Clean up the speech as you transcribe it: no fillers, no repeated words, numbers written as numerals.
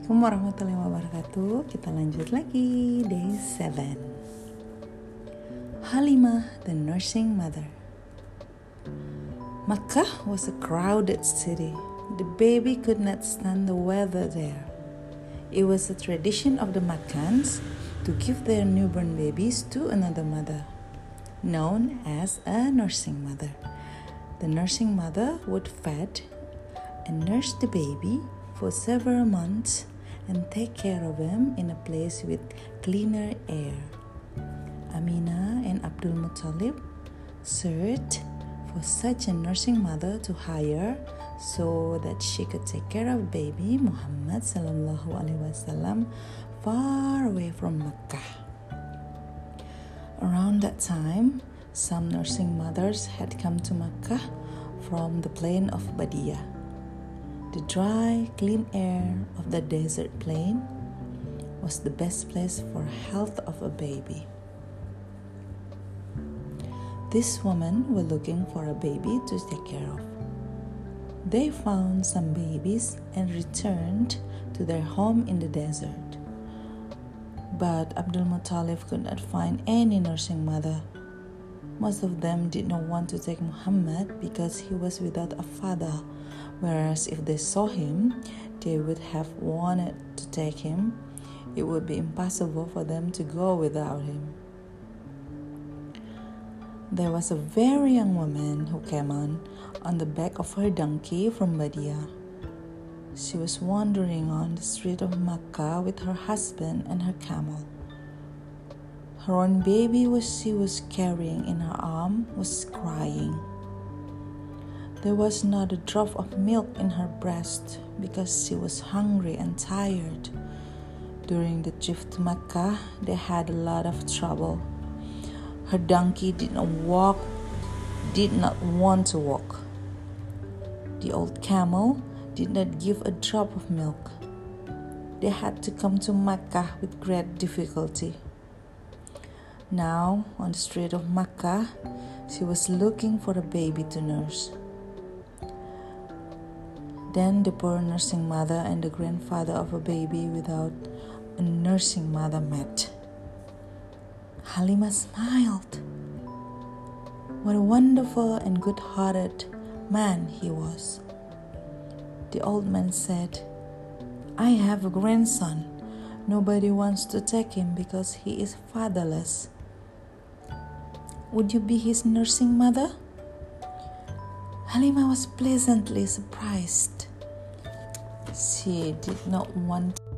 Assalamualaikum warahmatullahi wabarakatuh. Kita lanjut lagi, day 7. Halimah, the nursing mother. Makkah was a crowded city. The baby could not stand the weather there. It was a tradition of the Makkans to give their newborn babies to another mother, known as a nursing mother. The nursing mother would feed and nurse the baby for several months and take care of him in a place with cleaner air. Aminah and Abdul Muttalib searched for such a nursing mother to hire so that she could take care of baby Muhammad sallallahu alaihi wasallam far away from Mecca. Around that time, some nursing mothers had come to Mecca from the plain of Badia. The dry, clean air of the desert plain was the best place for health of a baby. These women were looking for a baby to take care of. They found some babies and returned to their home in the desert. But Abdul Muttalib could not find any nursing mother. Most of them did not want to take Muhammad because he was without a father, whereas if they saw him, they would have wanted to take him. It would be impossible for them to go without him. There was a very young woman who came on the back of her donkey from Badia. She was wandering on the street of Makkah with her husband and her camel. Her own baby she was carrying in her arm was crying. There was not a drop of milk in her breast because she was hungry and tired. During the trip to Mecca, they had a lot of trouble. Her donkey did not want to walk. The old camel did not give a drop of milk. They had to come to Mecca with great difficulty. Now, on the street of Mecca, she was looking for a baby to nurse. Then the poor nursing mother and the grandfather of a baby without a nursing mother met. Halimah smiled. What a wonderful and good-hearted man he was. The old man said, "I have a grandson. Nobody wants to take him because he is fatherless. Would you be his nursing mother?" Halimah was pleasantly surprised. She did not want